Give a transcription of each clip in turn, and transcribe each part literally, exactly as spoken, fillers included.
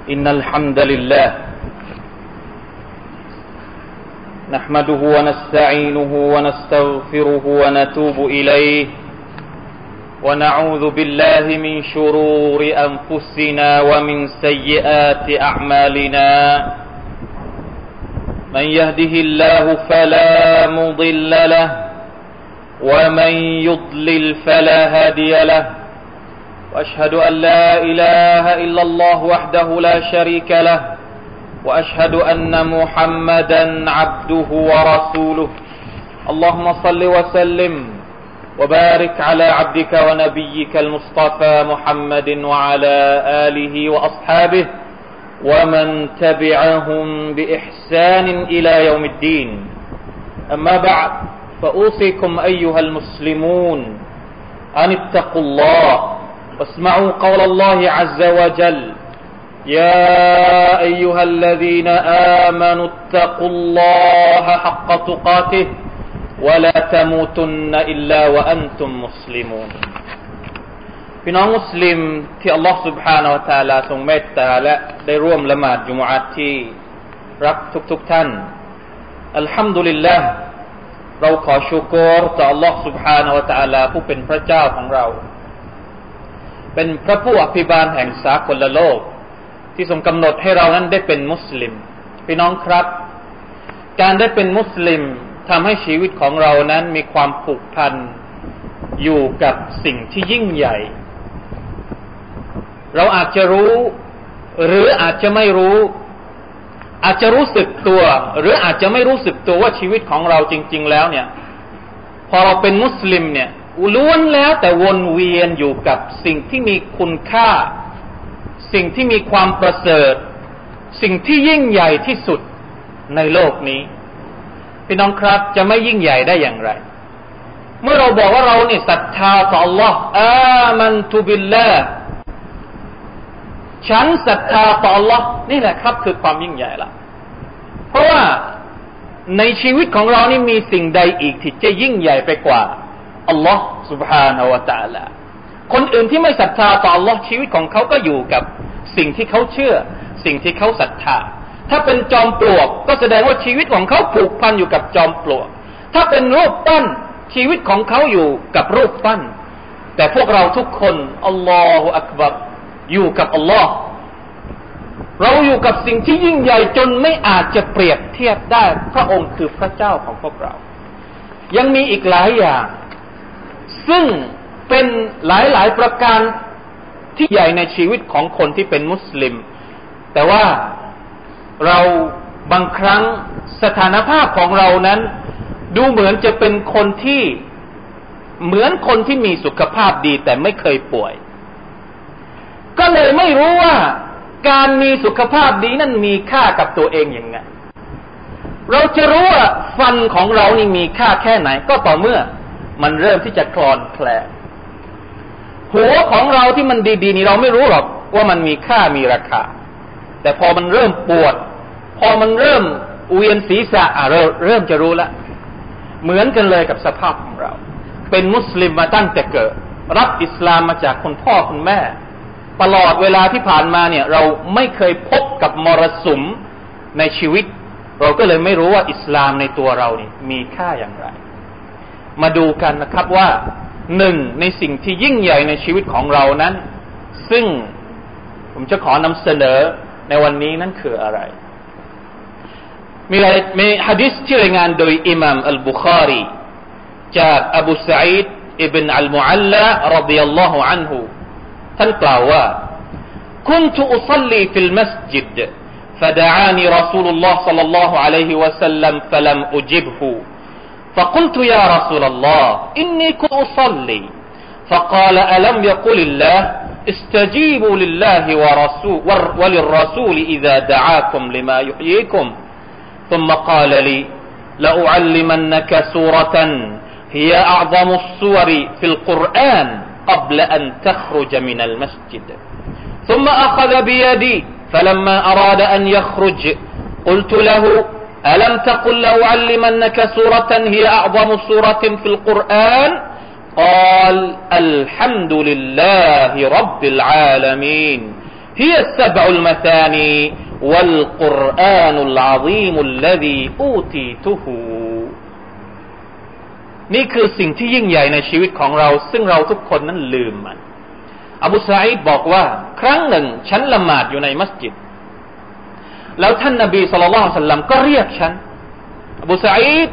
إن الحمد لله نحمده ونستعينه ونستغفره ونتوب إليه ونعوذ بالله من شرور أنفسنا ومن سيئات أعمالنا من يهده الله فلا مضل له ومن يضلل فلا هادي له وأشهد أن لا إله إلا الله وحده لا شريك له وأشهد أن محمدا عبده ورسوله اللهم صل وسلم وبارك على عبدك ونبيك المصطفى محمد وعلى آله وأصحابه ومن تبعهم بإحسان إلى يوم الدين أما بعد فأوصيكم أيها المسلمون أن اتقوا الله واسمعوا قول الله عز وجل يا أيها الذين آمنوا اتقوا الله حق تقاته ولا تموتن إلا وأنتم مسلمون พี่น้องมุสลิมที่อัลลอฮฺ سبحانه และ تعالى ทรงเมตตาและได้ร่วมละหมาดจุมอะห์ที่รักทุกๆท่านอัลฮัมดุลิลลาห์เราขอชูกรต่ออัลลอฮฺ سبحانه และ تعالى ผู้เป็นพระเจ้าของเราเป็นพระผู้อภิบาลแห่งสากลโลกที่ทรงกำหนดให้เรานั้นได้เป็นมุสลิมพี่น้องครับการได้เป็นมุสลิมทำให้ชีวิตของเรานั้นมีความผูกพันอยู่กับสิ่งที่ยิ่งใหญ่เราอาจจะรู้หรืออาจจะไม่รู้อาจจะรู้สึกตัวหรืออาจจะไม่รู้สึกตัวว่าชีวิตของเราจริงๆแล้วเนี่ยพอเราเป็นมุสลิมเนี่ยล้วนแล้วแต่วนเวียนอยู่กับสิ่งที่มีคุณค่าสิ่งที่มีความประเสริฐสิ่งที่ยิ่งใหญ่ที่สุดในโลกนี้พี่น้องครับจะไม่ยิ่งใหญ่ได้อย่างไรเมื่อเราบอกว่าเราเนี่ยศรัทธาต่อ Allah อามันตุบิลลาห์ฉันศรัทธาต่อ Allah นี่แหละครับคือความยิ่งใหญ่ละเพราะว่าในชีวิตของเรานี่มีสิ่งใดอีกที่จะยิ่งใหญ่ไปกว่าอัลลอฮ์ سبحانه และ تعالى คนอื่นที่ไม่ศรัทธาต่อ Allah ชีวิตของเขาก็อยู่กับสิ่งที่เขาเชื่อสิ่งที่เขาศรัทธาถ้าเป็นจอมปลวกก็แสดงว่าชีวิตของเขาผูกพันอยู่กับจอมปลวกถ้าเป็นรูปปั้นชีวิตของเขาอยู่กับรูปปั้นแต่พวกเราทุกคนอัลลอฮฺอักบัรอยู่กับอัลลอฮ์เราอยู่กับสิ่งที่ยิ่งใหญ่จนไม่อาจจะเปรียบเทียบได้พระองค์คือพระเจ้าของพวกเรายังมีอีกหลายอย่างซึ่งเป็นหลายๆประการที่ใหญ่ในชีวิตของคนที่เป็นมุสลิมแต่ว่าเราบางครั้งสถานภาพของเรานั้นดูเหมือนจะเป็นคนที่เหมือนคนที่มีสุขภาพดีแต่ไม่เคยป่วยก็เลยไม่รู้ว่าการมีสุขภาพดีนั้นมีค่ากับตัวเองอย่างไงเราจะรู้ว่าฟันของเรานี่มีค่าแค่ไหนก็ต่อเมื่อมันเริ่มที่จะคลอนแคลนหัวของเราที่มันดีๆนี่เราไม่รู้หรอกว่ามันมีค่ามีราคาแต่พอมันเริ่มปวดพอมันเริ่มเวียนศีรษะอ่ะเราเริ่มจะรู้ละเหมือนกันเลยกับสภาพของเราเป็นมุสลิมมาตั้งแต่เกิดรับอิสลามมาจากคุณพ่อคุณแม่ตลอดเวลาที่ผ่านมาเนี่ยเราไม่เคยพบกับมรสุมในชีวิตเราก็เลยไม่รู้ว่าอิสลามในตัวเรานี่มีค่าอย่างไรมาดูกันนะครับว่าหนึ่งในสิ่งที่ยิ่งใหญ่ในชีวิตของเรานั้นซึ่งผมจะขอนำเสนอในวันนี้นั้นคืออะไรมีมีหะดีษที่รายงานโดยอิหม่ามอัลบุคารีจากอบูซะอีดอิบนอัลมุอัลลาร็อฎิยัลลอฮุอันฮุท่านกล่าวว่า كنت أصلي في المسجد فدعاني رسول الله صلى الله عليه وسلم فلم أجبه فقلت يا رسول الله إني كنت أصلي فقال ألم يقل الله استجيبوا لله ورسول وللرسول إذا دعاكم لما يحييكم ثم قال لي لأعلمنك سورة هي أعظم السور في القرآن قبل أن تخرج من المسجد ثم أخذ بيدي فلما أراد أن يخرج قلت له ألم تقل لأعلمنك سورة هي أعظم سورة في القرآن قال الحمد لله رب العالمين هي السبع المثاني والقرآن العظيم الذي أوتيتهนี่คือสิ่งที่ยิ่งใหญ่ในชีวิตของเราซึ่งเราทุกคนนั้นลืมมันอบูซาอิดบอกว่าครั้งหนึ่งฉันละหมาดอยู่ในมัสยิดแล้วท่านนบีศ็อลลัลลอฮุอะลัยฮิวะซัลลัมก็เรียกฉันอบูซาอิด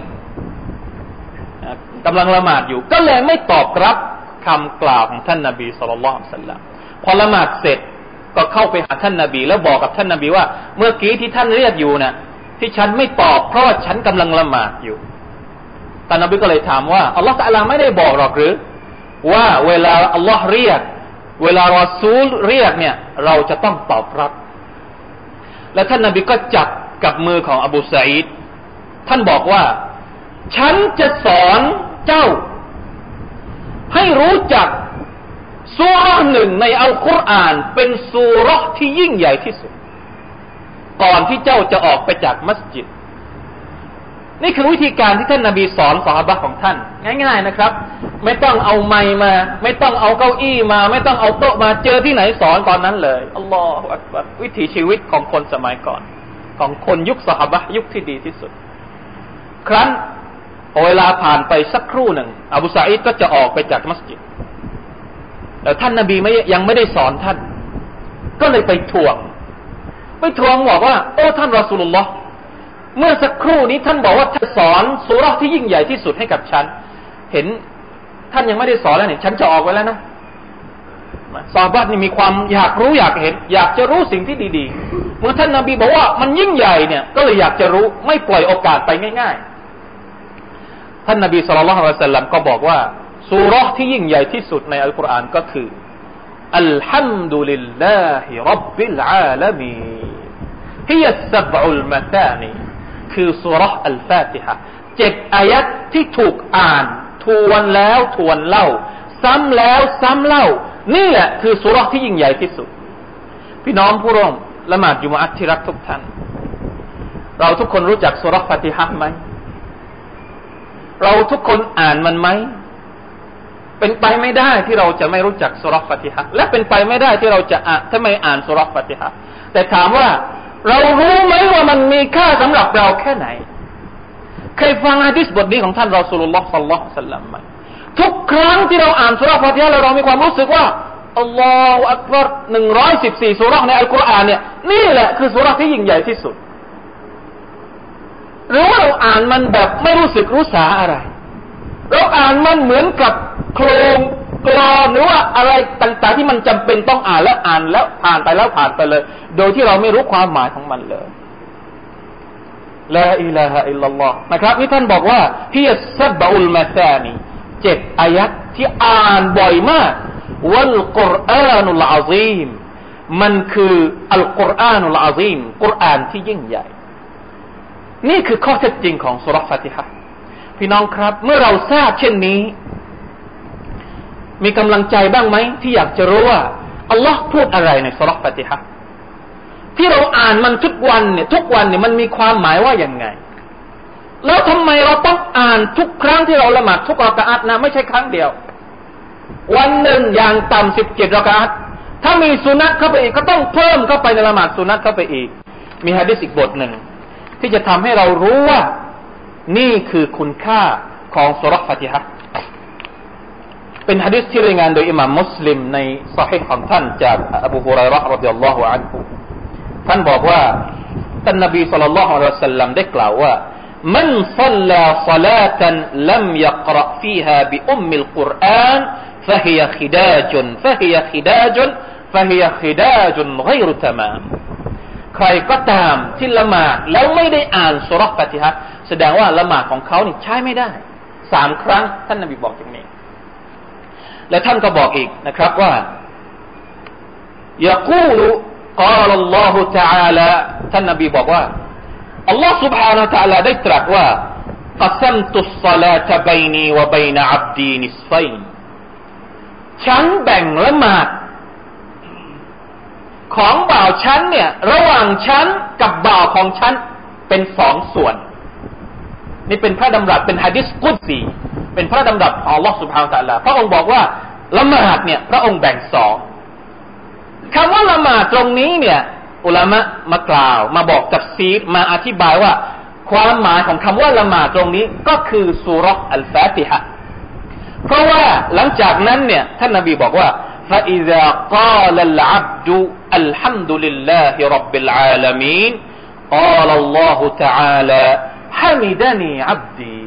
กำลังละหมาดอยู่ก็เลยไม่ตอบรับคำกล่าวของท่านนบีศ็อลลัลลอฮุอะลัยฮิวะซัลลัมพอละหมาดเสร็จก็เข้าไปหาท่านนบีแล้วบอกกับท่านนบีว่าเมื่อกี้ที่ท่านเรียกอยู่น่ะที่ฉันไม่ตอบเพราะว่าฉันกำลังละหมาดอยู่ท่านนบีก็เลยถามว่าอัลลอฮฺตะอาลาไม่ได้บอกหรอกหรือว่าเวลาอัลลอฮฺเรียกเวลารอซูลเรียกเนี่ยเราจะต้องตอบรับและท่านนบีก็จับกับมือของอบูซาอิดท่านบอกว่าฉันจะสอนเจ้าให้รู้จักซูเราะห์หนึ่งในอัลกุรอานเป็นซูเราะห์ที่ยิ่งใหญ่ที่สุดก่อนที่เจ้าจะออกไปจากมัสยิดนี่คือวิธีการที่ท่านนบีสอนซอฮาบะห์ของท่านง่ายๆนะครับไม่ต้องเอาไมค์มาไม่ต้องเอาเก้าอี้มาไม่ต้องเอาโต๊ะมาเจอที่ไหนสอนตอนนั้นเลยอัลลอฮฺอักบัรวิถีชีวิตของคนสมัยก่อนของคนยุคซอฮาบะห์ยุคที่ดีที่สุดครั้นเวลาผ่านไปสักครู่หนึ่งอบูซาอิดก็จะออกไปจากมัสยิดแต่ท่านนบีไม่ยังไม่ได้สอนท่านก็เลยไปทวงไปทวงบอกว่าโอ้ท่านรอซูลุลลอฮ์เมื่อสักครู่นี้ท่านบอกว่าท่านสอนซูเราะห์ที่ยิ่งใหญ่ที่สุดให้กับฉันเห็นท่านยังไม่ได้สอนแล้วเนี่ยฉันจะออกไปแล้วนะซอฮาบะห์นี่มีความอยากรู้อยากเห็นอยากจะรู้สิ่งที่ดีๆเมื่อท่านนบีบอกว่ามันยิ่งใหญ่เนี่ยก็เลยอยากจะรู้ไม่ปล่อยโอกาสไปง่ายๆท่านนบีศ็อลลัลลอฮุอะลัยฮิวะซัลลัมก็บอกว่าซูเราะห์ที่ยิ่งใหญ่ที่สุดในอัลกุรอานก็คืออัลฮัมดุลิลลาฮิร็อบบิลอาลามีนฮิยะสซับอุลมะซานีคือซูเราะห์อัลฟาติฮะห์เจ็ดอายัดที่ถูกอ่านทวนแล้วทวนเล่าซ้ำแล้วซ้ำเล่านี่แหละคือซูเราะห์ที่ยิ่งใหญ่ที่สุดพี่น้องผู้ร่วมละหมาดจุมอะห์ที่รักทุกท่านเราทุกคนรู้จักซูเราะห์ฟาติฮะห์มั้ยเราทุกคนอ่านมันไหมเป็นไปไม่ได้ที่เราจะไม่รู้จักซูเราะห์ฟาติฮะห์และเป็นไปไม่ได้ที่เราจะอ่านถ้าไม่อ่านซูเราะห์ฟาติฮะห์แต่ถามว่าเรารู้ไหมว่ามันมีค่าสำหรับเราแค่ไหนเคยฟังหะดีษบทนี้ของท่านรอซูลุลลอฮ์ศ็อลลัลลอฮุอะลัยฮิวะซัลลัมมั้ยทุกครั้งที่เราอ่านซูเราะห์ฟาติฮะห์แล้วเรามีความรู้สึกว่าอัลลอฮฺอักบัรหนึ่งร้อยสิบสี่ซูเราะห์ในอัลกุรอานเนี่ยนี่แหละคือซูเราะห์ที่ยิ่งใหญ่ที่สุดหรือว่าเราอ่านมันแบบไม่รู้สึกรู้สาอะไรเราอ่านมันเหมือนกับโครงกลอนหรือว่าอะไรต่างๆที่มันจำเป็นต้องอ่านแล้วอ่านแล้วผ่านไปแล้วผ่านไปเลยโดยที่เราไม่รู้ความหมายของมันเลยลาอิลาฮะอิลลัลลอฮ์นะครับที่ท่านบอกว่าฮิยัสซับอุลมะซานีเจ็ดอายัดที่อ่านบ่อยมากวัลกุรอานุลอะซีมมันคืออัลกุรอานุลอะซีมกุรอานที่ยิ่งใหญ่นี่คือข้อเท็จจริงของซูเราะห์ฟาติฮะห์พี่น้องครับเมื่อเราทราบเช่นนี้มีกำลังใจบ้างไหมที่อยากจะรู้ว่าอัลลอฮ์พูดอะไรในซูเราะห์ฟาติฮะห์ที่เราอ่านมันทุกวันเนี่ยทุกวันเนี่ยมันมีความหมายว่าอย่างไงแล้วทำไมเราต้องอ่านทุกครั้งที่เราละหมาดทุกรอกะอะฮ์นะไม่ใช่ครั้งเดียววันหนึ่งอย่างต่ำสิบเจ็ดรอกะอะฮ์ถ้ามีสุนัตเข้าไปอีกก็ต้องเพิ่มเข้าไปในละหมาดสุนัตเข้าไปอีกมีหะดีษอีกบทหนึ่งที่จะทำให้เรารู้ว่านี่คือคุณค่าของซูเราะห์ฟาติฮะห์เป็นหะดีษที่รายงานโดยอิหม่ามมุสลิมในซอฮีฮ์ของท่านจากอบูฮุรอยเราะห์รอฎิยัลลอฮุอันฮุท่านบอกว่าท่านนบีศ็อลลัลลอฮุอะลัยฮิวะซัลลัมได้กล่าวว่ามันศ็อลลาศอลาตันลัมยะกเราะฟีฮาบิอุมมิลกุรอานฟะฮิยะคิดาจุนฟะฮิยะคิดาจุนฟะฮิยะคิดาจุนฆอยรุตะมามใครก็ตามที่ละหมาดแล้วไม่ได้อ่านซูเราะห์ฟาติฮะห์แสดงว่าละหมาดของเขานี่ใช้ไม่ได้สามครั้งท่านนบีบอกอย่างนี้และท่านก็บอกอีกนะครับว่ายะกูลกาลอัลลอฮุตะอาลาท่านนบีบอกว่าอัลลอฮฺ سبحانه และ تعالى ได้ตรัสว่ากัซัมตุศศอลาตะบัยนีวะบัยนะอับดีนิศฟัยน์ฉันแบ่งละหมาดของบ่าวฉันเนี่ยระหว่างฉันกับบ่าวของฉันเป็นสองส่วนนี่เป็นพระดำรัสเป็นหะดีษกุดซีเป็นพระดำรัสของอัลลอฮฺ سبحانه และ تعالى พระองค์บอกว่าละหมาดเนี่ยพระองค์แบ่งสองคำว่าละหมาดตรงนี้เนี่ยอุลามะมากล่าวมาบอกตัฟซีรมาอธิบายว่าความหมายของคำว่าละหมาดตรงนี้ก็คือซูเราะห์อัลฟาติฮะห์เพราะว่าหลังจากนั้นเนี่ยท่านนบีบอกว่า فإذا قال العبد الحمد لله رب العالمين قال الله تعالى حمدني عبدي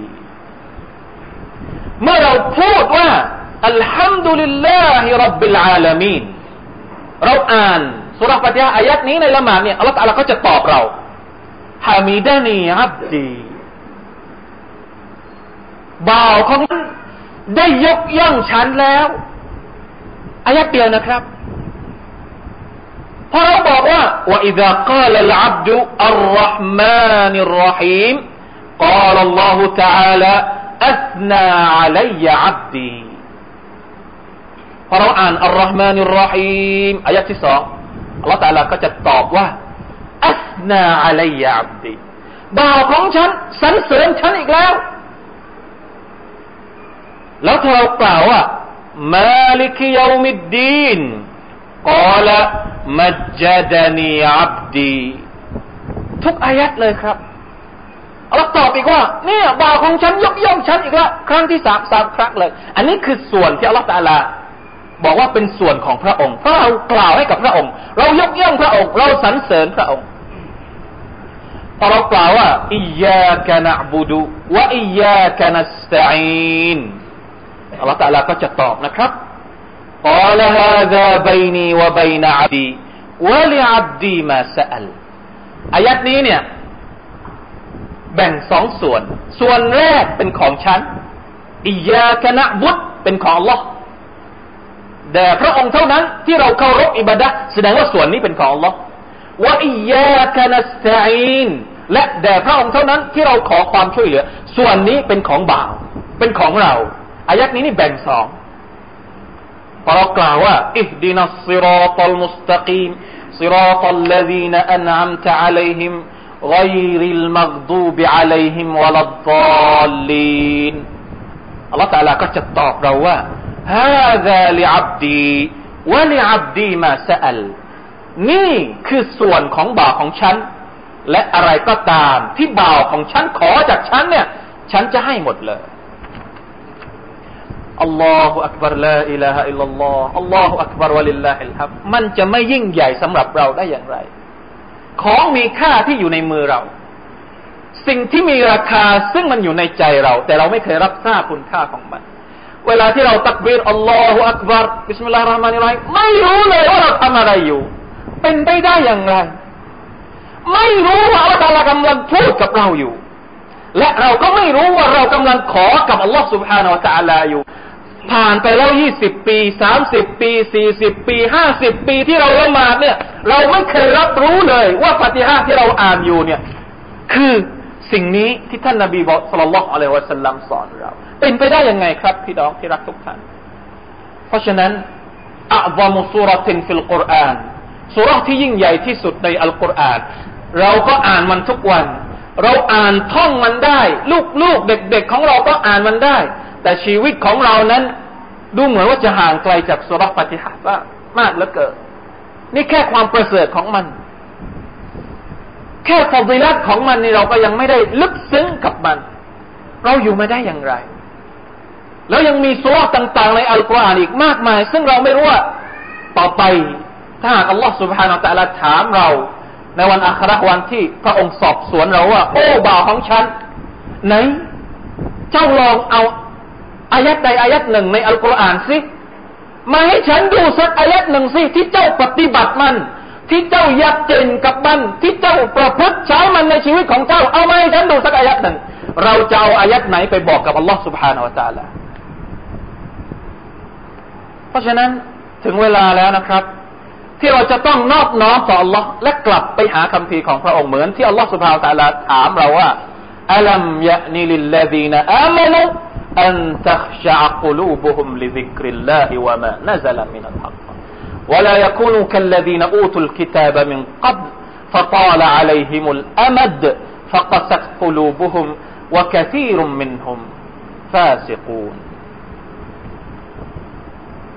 เมื่อเราพูดว่าอัลฮัมดุลิลลาฮิร็อบบิลอาลามีนเราอ่านซูเราะห์ฟาติฮะห์อายัดนี้ในละหมาดเนี่ยอัลเลาะห์ตะอาลาก็จะตอบเราฮามิดานีอับดีบ่าวของฉันได้ยกย่องฉันแล้วอายัดเดียวนะครับพอเราบอกว่าว่าอิซากาลอัลอับดุอัรเราะห์มานิรเราะฮีมกาลอัลลอฮุตะอาลาอัสนาอะลัยอับดีพอเราอ่านอัรเราะห์มานิรเราะฮีมอายัดที่สองอัลเลาะห์ตะอาลาก็จะตอบว่าอัสนาอะลัยอับดีบ่าวของฉันสรรเสริญฉันอีกแล้วแล้วถ้าเรากล่าวว่ามาลิกยอมิดดีนกาลมัจจดานีอับดีทุกอายัดเลยครับอัลเลาะห์ตอบอีกว่าเนี่ยบ่าวของฉันยกย่องฉันอีกแล้วครั้งที่สามสามครั้งเลยอันนี้คือส่วนที่อัลเลาะห์ตะอาลาบอกว่าเป็นส่วนของพระองค์เพราะเรากล่าวให้กับพระองค์เรายกย่องพระองค์เราสรรเสริญพระองค์พอเรากล่าวว่าอิยยากะนะอ์บุดุวะอิยยากะนัสตะอีนอัลเลาะห์ตะอาลาก็จะตอบนะครับกาลฮาซาบัยนีวะบัยนะอับดีวะลิอับดีมาซะอัลอายัดนี้เนี่ยแบ่งสองส่วนส่วนแรกเป็นของฉันอิยยากะนะอ์บุดเป็นของอัลเลาะห์แต่พระองค์เท่านั้นที่เราเคารพอิบาดะห์แสดงว่าส่วนนี้เป็นของอัลเลาะห์วะอิยยากะนัสตะอีนและแต่พระองค์เท่านั้นที่เราขอความช่วยเหลือส่วนนี้เป็นของบ่าวเป็นของเราอายัดนี้นี่แบ่งสองพอเรากล่าวว่าอิฮดินัสศิรอตัลมุสตะกีมศิรอตัลลซีนอันอัมตะอะลัยฮิมغير المغضوب عليهم ولا الضالين อัลเลาะห์ตะอาลาก็จะตอบเราว่า هذا لعبدي ولعبدي ما سأل นี่คือส่วนของบ่าวของฉันและอะไรก็ตามที่บ่าวของฉันขอจากฉันเนี่ยฉันจะให้หมดเลยอัลลอฮุอักบัรลาอิลาฮะอิลลัลลอฮ์อัลลอฮุอักบัรวะลิลลาฮิลฮัมดมันจะไม่ยิ่งใหญ่สำหรับเราได้อย่างไรของมีค่าที่อยู่ในมือเราสิ่งที่มีราคาซึ่งมันอยู่ในใจเราแต่เราไม่เคยรับทราบคุณค่าของมันเวลาที่เราตักบีรอัลลอฮุอักบัรบิสมิลลาฮิรเราะห์มานิรเราะฮีมไม่รู้เลยว่าเราทำอะไรอยู่เป็นไปได้อย่างไรไม่รู้ว่าอัลเลาะห์ตะอาลากำลังพูดกับเราอยู่และเราก็ไม่รู้ว่าเรากำลังขอกับอัลลอฮ์ سبحانه และ تعالى อยู่ผ่านไปแล้วยี่สิบปีสามสิบปีสี่สิบปีห้าสิบปีที่เราละหมาดเนี่ยเราไม่เคยรับรู้เลยว่าฟาติฮะห์ที่เราอ่านอยู่เนี่ยคือสิ่งนี้ที่ท่านนบีบอกศ็อลลัลลอฮุอะลัยฮิวะซัลลัมสอนเราเป็นไปได้ยังไงครับพี่น้องที่รักทุกท่านเพราะฉะนั้นอัอฎอมุซูเราะตินฟิลกุรอานซูเราะห์ที่ยิ่งใหญ่ที่สุดในอัลกุรอานเราก็อ่านมันทุกวันเราอ่านท่องมันได้ลูกๆเด็กๆของเราก็อ่านมันได้แต่ชีวิตของเรานั้นดูเหมือนว่าจะห่างไกลจากซูเราะห์ฟาติฮะห์มากเหลือเกินนี่แค่ความประเสริฐของมันแค่ฟอฎิละห์ของมันนี่เราก็ยังไม่ได้ลึกซึ้งกับมันเราอยู่มาได้อย่างไรแล้วยังมีซูเราะห์ต่างๆในอัลกุรอานอีกมากมายซึ่งเราไม่รู้ว่าต่อไปถ้าหากอัลลอฮฺ سبحانه และ تعالى ถามเราในวันอาคิเราะห์วันที่พระองค์สอบสวนเราว่าโอ้บ่าวของฉันไหนเจ้าลองเอาอายัดใดอายัดหนึ่งในอัลกุรอานสิมาให้ฉันดูสักอายัดหนึ่งสิที่เจ้าปฏิบัติมันที่เจ้ายักเจนกับมันที่เจ้าประพฤติใช้มันในชีวิตของเจ้าเอามาให้ฉันดูสักอายัดหนึ่งเราจะเอาอายัดไหนไปบอกกับอัลลอฮฺ سبحانه และ تعالى เพราะฉะนั้นถึงเวลาแล้วนะครับที่เราจะต้องนอบน้อมต่อ Allah และกลับไปหาคัมภีร์ของพระองค์เหมือนที่ Allah سبحانه และ تعالى ถามเราว่าอะลัมยะนีลิลลซีนอามานูอันตัขชะอ์กุลูบุฮุมลิซิกริลลาฮิวะมานะซะละมินัลฮักวะลายักูนูคัลลซีนอูตุลกิตาบมินกับลฟะฏาลอะลัยฮิมุลอะมัดฟะกะซัตกุลูบุฮุมวะกะซีรุมมินฮุมฟาซิกูน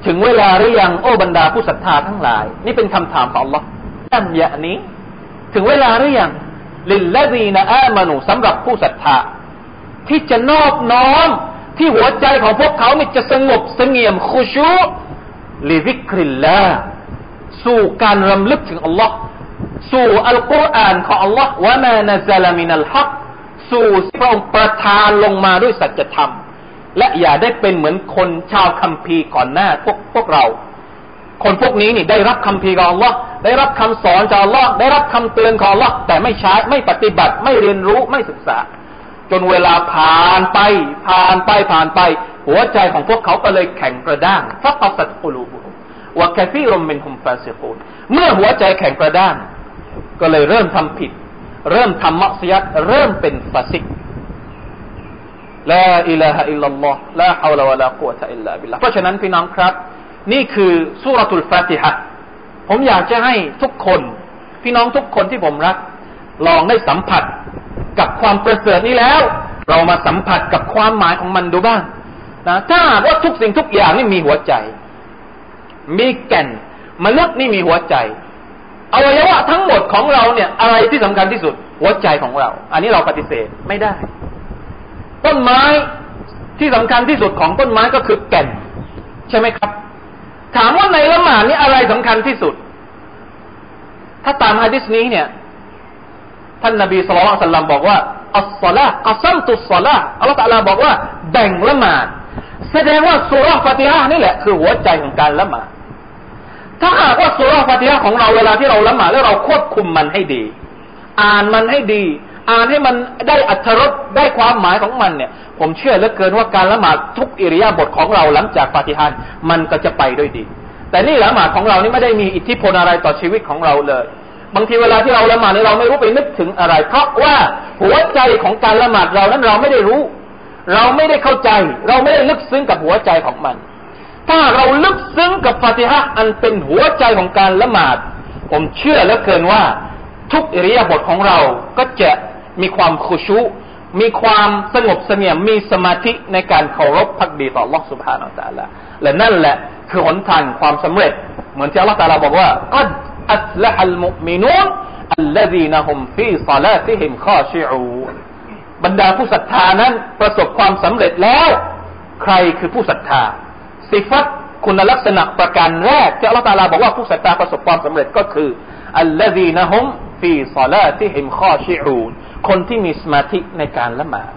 ถึงเวลาหรือยังโอ้บรรดาผู้ศรัทธาทั้งหลายนี่เป็นคำถามของอัลลอฮ์อัมยะนี้ถึงเวลาหรือยังลิลลซีนอามานูสำหรับผู้ศรัทธาที่จะนอบน้อมที่หัวใจของพวกเขานี่จะสงบเสงี่ยมคุชูลิซิกริลลาห์สู่การรำลึกถึงอัลลอฮ์สู่อัลกุรอานของอัลลอฮ์วะมานะซะลามินัลฮักสู่พระองค์ประทานลงมาด้วยสัจธรรมและอย่าได้เป็นเหมือนคนชาวคัมภีร์ก่อนหน้าพวกพวกเราคนพวกนี้นี่ได้รับคัมภีร์ของอัลลอฮ์ได้รับคำสอนจากอัลลอฮ์ได้รับคำเตือนของอัลลอฮ์แต่ไม่ใช้ไม่ปฏิบัติไม่เรียนรู้ไม่ศึกษาจนเวลาผ่านไปผ่านไปผ่านไปหัวใจของพวกเขาก็เลยแข็งกระด้างฟักสัตกุลูบุวะกะซีรุมมินฮุมฟาซิกูนเมื่อหัวใจแข็งกระด้างก็เลยเริ่มทำผิดเริ่มทำมักซิยัตเริ่มเป็นฟาซิกลาอิลาฮะอิลลัลลอฮ์ลาฮาวละวะลากุวะตะอิลลาบิลลาห์เพราะฉะนั้นพี่น้องครับนี่คือซูเราะตุลฟาติฮะห์ผมอยากจะให้ทุกคนพี่น้องทุกคนที่ผมรักลองได้สัมผัสกับความประเสริฐนี้แล้วเรามาสัมผัสกับความหมายของมันดูบ้างนะถ้าว่าทุกสิ่งทุกอย่างนี่มีหัวใจมีแก่นมนุษย์นี่มีหัวใจอวัยวะทั้งหมดของเราเนี่ยอะไรที่สำคัญที่สุดหัวใจของเราอันนี้เราปฏิเสธไม่ได้ต้นไม้ที่สำคัญที่สุดของต้นไม้ก็คือแก่นใช่ไหมครับถามว่าในละหมาดนี่อะไรสำคัญที่สุดถ้าตามหะดีษนี้เนี่ยท่านนบีศ็อลลัลลอฮุอะลัยฮิวะซัลลัมบอกว่าอัศศอลาฮ์กะซัมตุศศอลาฮ์อัลเลาะห์ตะอาลาบอกว่าแบ่งละหมาดแสดงว่าซูเราะห์ฟาติฮะห์นี่แหละคือหัวใจของการละหมาดถ้าหากว่าซูเราะห์ฟาติฮะห์ของเราเวลาที่เราละหมาดแล้วเราควบคุมมันให้ดีอ่านมันให้ดีอ่านให้มันได้อรรถรสได้ความหมายของมันเนี่ยผมเชื่อเหลือเกินว่าการละหมาดทุกอิริยาบถของเราหลังจากฟาติฮะห์มันก็จะไปด้วยดีแต่นี่ละหมาดของเรานี่ไม่ได้มีอิทธิพลอะไรต่อชีวิตของเราเลยบางทีเวลาที่เราละหมาดเราไม่รู้ไปนึกถึงอะไรเพราะว่าหัวใจของการละหมาดเรานั้นเราไม่ได้รู้เราไม่ได้เข้าใจเราไม่ได้ลึกซึ้งกับหัวใจของมันถ้าเราลึกซึ้งกับฟาติฮะห์อันเป็นหัวใจของการละหมาดผมเชื่อเหลือเกินว่าทุกอิริยาบถของเราก็จะมีความคุชูมีความสงบเสงี่ยมมีสมาธิในการเคารพภักดีต่อ Allah Subhanahu Wa Taala และนั่นแหละคือหนทางความสำเร็จเหมือนที่ Allah Taala บอกว่ากัดอัฟละฮัลมุมินูนอัลลซีนะฮุมฟีศอลาติฮิมคอชิอูนบรรดาผู้ศรัทธานั้นประสบความสำเร็จแล้วใครคือผู้ศรัทธาสิฟัตคุณลักษณะประการแรกที่ Allah Taala บอกว่าผู้ศรัทธาประสบความสำเร็จก็คืออัลลซีนะฮุมฟีศอลาติฮิมคอชิอูนคนที่มีสมาธิในการละหมาด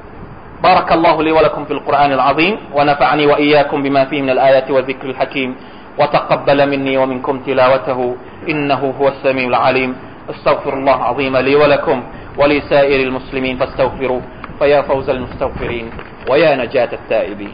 بارك الله لي ولكم في القرآن العظيم ونفعني وإياكم بما فيه من الآيات والذكر الحكيم وتقبل مني ومنكم تلاوته إنه هو السميع العليم استغفر الله العظيم لي ولكم ولسائر المسلمين فاستغفروه فيا فوز المستغفرين ويا نجاة التائبين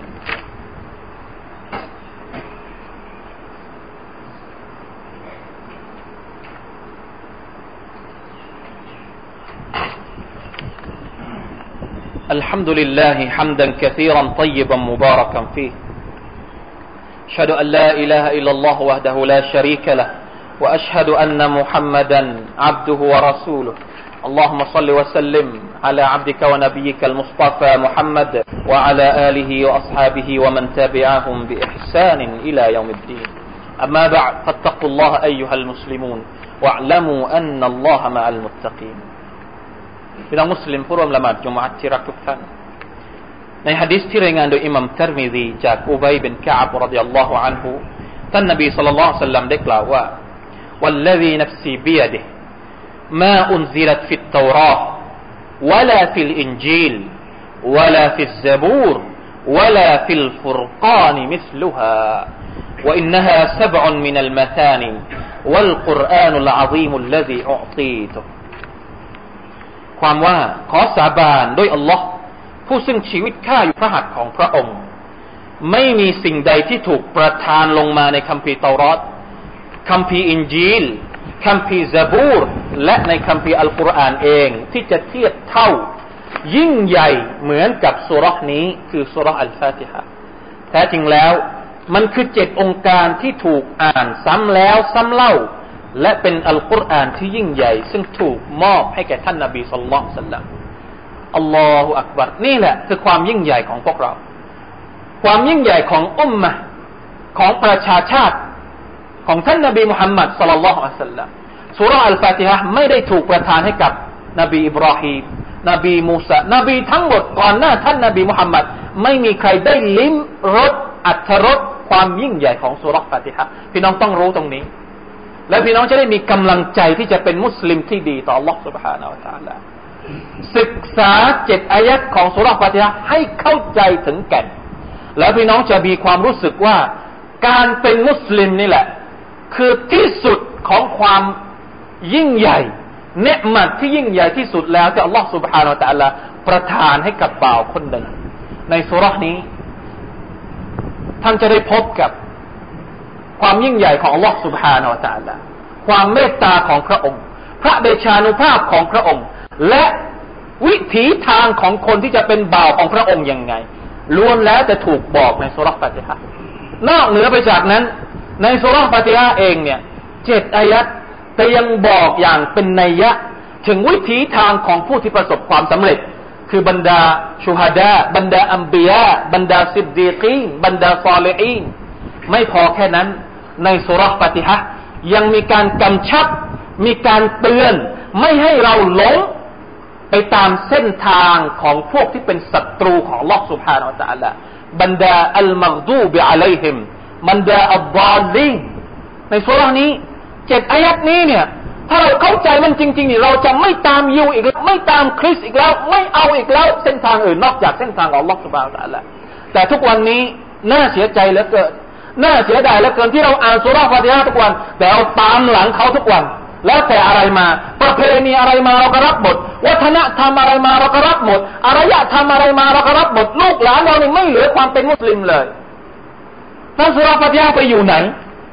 الحمد لله حمدا كثيرا طيبا مباركا فيه أشهد أن لا إله إلا الله وحده لا شريك له وأشهد أن محمدا عبده ورسوله اللهم صل وسلم على عبدك ونبيك المصطفى محمد وعلى آله وأصحابه ومن تبعهم بإحسان إلى يوم الدين أما بعد فاتقوا الله أيها المسلمون واعلموا أن الله مع المتقينพี่น้องมุสลิมผู้ร่วมละหมาดจุมอะห์ที่รักทุกท่านในหะดีษที่รายงานโดยอิหม่ามติรมิซีจากอุบัยบินกะอับรอฎิยัลลอฮุอันฮุท่านนบีศ็อลลัลลอฮุอะลัยฮิวะซัลลัมได้กล่าวว่าวัลลซีนัฟซีบิยะดิฮิมาอุนซิลัตฟิตเตาราห์วะลาฟิลอินจีลวะลาฟิซซะบูรวะลาฟิลฟุรกานมิสลุฮาวะอินนะฮาซับอุนมินัลมะธานิวัลกุรอานุลอะซีมุลลซีอุอตีตุความว่าขอสาบานด้วยอัลลอฮ์ผู้ซึ่งชีวิตข้าอยู่พระหัตถ์ของพระองค์ไม่มีสิ่งใดที่ถูกประทานลงมาในคัมภีร์เตารอตคัมภีร์อินจีลคัมภีร์ซะบูรและในคัมภีร์อัลกุรอานเองที่จะเทียบเท่ายิ่งใหญ่เหมือนกับซูเราะห์นี้คือซูเราะห์อัลฟาติฮะห์แท้จริงแล้วมันคือเจ็ดองค์การที่ถูกอ่านซ้ำแล้วซ้ำเล่าและเป็นอัลกุรอานที่ยิ่งใหญ่ซึ่งถูกมอบให้แก่ท่านนบีศ็อลลัลลอฮุอะลัยฮิวะซัลลัมอัลลอฮุอักบัรนี่แหละคือความยิ่งใหญ่ของพวกเราความยิ่งใหญ่ของอุมมะห์ของประชาชาติของท่านนบีมุฮัมมัดศ็อลลัลลอฮุอะลัยฮิวะซัลลัมซูเราะห์อัลฟาติฮะห์ไม่ได้ถูกประทานให้กับนบีอิบราฮีมนบีมูซานบีทั้งหมดก่อนหน้าท่านนบีมุฮัมมัดไม่มีใครได้ลิ้มรสอรรถรสความยิ่งใหญ่ของซูเราะห์ฟาติฮะห์พี่น้องต้องรู้ตรงนี้และพี่น้องจะได้มีกำลังใจที่จะเป็นมุสลิมที่ดีต่อ Allah سبحانه และ تعالى ศึกษาเจ็ดอายัดของซูเราะห์ฟาติฮะห์ให้เข้าใจถึงแก่นแล้วพี่น้องจะมีความรู้สึกว่าการเป็นมุสลิมนี่แหละคือที่สุดของความยิ่งใหญ่เนืมัดที่ยิ่งใหญ่ที่สุดแล้วที่ Allah سبحانه และ تعالى ประทานให้กับบ่าวคนหนึ่งในซูเราะห์นี้ท่านจะได้พบกับความยิ่งใหญ่ของ Allah سبحانه และ تعالى ความเมตตาของพระองค์พระเดชานุภาพของพระองค์และวิถีทางของคนที่จะเป็นบ่าวของพระองค์ยังไงล้วนแล้วจะถูกบอกในซูเราะห์ฟาติฮะห์นอกเหนือไปจากนั้นในซูเราะห์ฟาติฮะห์เองเนี่ยเจ็ดอายัดแต่ยังบอกอย่างเป็นนัยยะถึงวิถีทางของผู้ที่ประสบความสำเร็จคือบรรดาชูฮาดาบรรดาอัมบิยาบรรดาซิดดีกีนบรรดาศอลิฮีนไม่พอแค่นั้นในซูเราะห์ฟาติฮะห์ยังมีการกำชับมีการเตือนไม่ให้เราหลงไปตามเส้นทางของพวกที่เป็นศัตรูของ Allah سبحانه และ تعالى บรรดาอัลมัฆดูบอะลัยฮิมบรรดาอัลฎอลลีนในซูเราะห์นี้เจ็ดอายัดนี้เนี่ยถ้าเราเข้าใจมันจริงๆนี่เราจะไม่ตามยิวอีกไม่ตามคริสต์อีกแล้วไม่เอาอีกแล้วเส้นทางอื่นนอกจากเส้นทางของ Allah سبحانه และ تعالى แต่ทุกวันนี้น่าเสียใจเหลือเกินน่าเสียดายเหลือเกินที่เราอ่านซูเราะห์ฟาติฮะห์ทุกวันแต่เราตามหลังเขาทุกวันแล้วแต่อะไรมาประเพณีอะไรมาเราก็รับหมดวัฒนธรรมอะไรมาเราก็รับหมดอารยธรรมอะไรมาเราก็รับหมดลูกหลานเราเนี่ยไม่เหลือความเป็นมุสลิมเลยท่านซูเราะห์ฟาติฮะห์ไปอยู่ไหน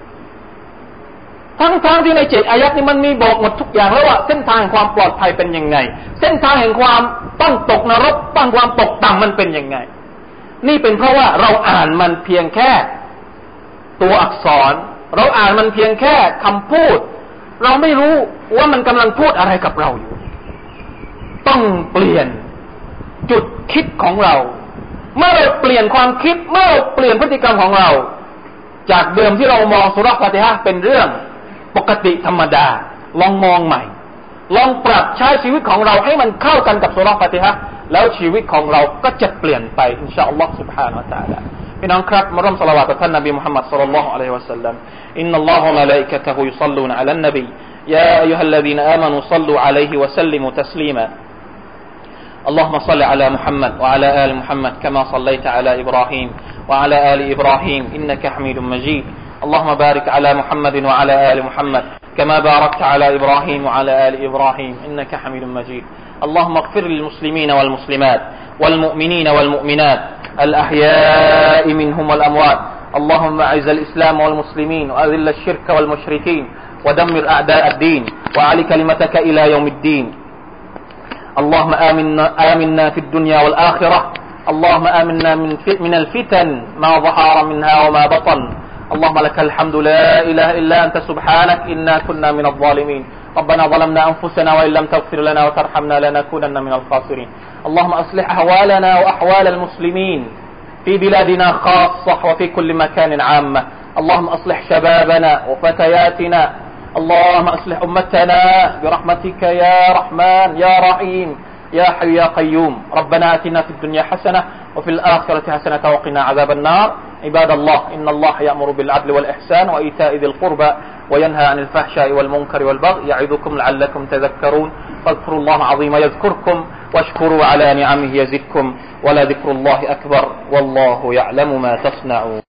ทั้งๆ ท, ที่ในเจ็ดอายัดนี้มันมีบอกหมดทุกอย่างแล้วว่าเส้นทางความปลอดภัยเป็นยังไงเส้นทางแห่งความต้องตกนรกต้องความตกต่ำมันเป็นยังไงนี่เป็นเพราะว่าเราอ่านมันเพียงแค่ตัวอักษรเราอ่านมันเพียงแค่คำพูดเราไม่รู้ว่ามันกำลังพูดอะไรกับเราอยู่ต้องเปลี่ยนจุดคิดของเราเมื่อเราเปลี่ยนความคิดเมื่อเราเปลี่ยนพฤติกรรมของเราจากเดิมที่เรามองซูเราะห์ฟาติฮะห์เป็นเรื่องปกติธรรมดาลองมองใหม่ลองปรับใช้ชีวิตของเราให้มันเข้ากันกับซูเราะห์ฟาติฮะห์แล้วชีวิตของเราก็จะเปลี่ยนไปอินชาอัลลอฮฺ سبحانه และ تعالى พี่น้องครับมาร่วมศอลาวาตต่อท่านนบีมุฮัมมัดศ็อลลัลลอฮุอะลัยฮิวะซัลลัมอินนัลลอฮะวะมะลาอิกะตุฮุยุศ็อลลูนอะลันนบียาอัยยูฮัลลซีนาอามานูศ็อลลูอะลัยฮิวะซัลลิมูตัสลีมาاللهم صل على محمد وعلى آل محمد كما صليت على إبراهيم وعلى آل إبراهيم إنك حميد مجيد اللهم بارك على محمد وعلى آل محمد كما باركت على إبراهيم وعلى آل إبراهيم إنك حميد مجيد اللهم اغفر للمسلمين والمسلمات والمؤمنين والمؤمنات الأحياء منهم والأموات اللهم أعز الإسلام والمسلمين وأذل الشرك والمشركين ودمر أعداء الدين وأعل كلمتك إلى يوم الدين اللهم آمنا, آمنا في الدنيا والآخرة اللهم آمنا من, من الفتن ما ظهر منها وما بطن اللهم لك الحمد لا إله إلا أنت سبحانك إنا كنا من الظالمين ربنا ظلمنا أنفسنا وإن لم تغفر لنا وترحمنا لنكونن من الخاسرين اللهم أصلح أحوالنا وأحوال المسلمين في بلادنا خاصة وفي كل مكان عامة اللهم أصلح شبابنا وفتياتنا اللهم أصلح أمتنا برحمتك يا رحمن يا رحيم يا حي يا قيوم ربنا آتنا في الدنيا حسنة وفي الآخرة حسنة وقنا عذاب النار عباد الله إن الله يأمر بالعدل والإحسان وإيتاء ذي القربى وينهى عن الفحشاء والمنكر والبغي يعظكم لعلكم تذكرون فاذكروا الله العظيم يذكركم واشكروا على نعمه يزدكم ولذكر الله أكبر والله يعلم ما تصنعون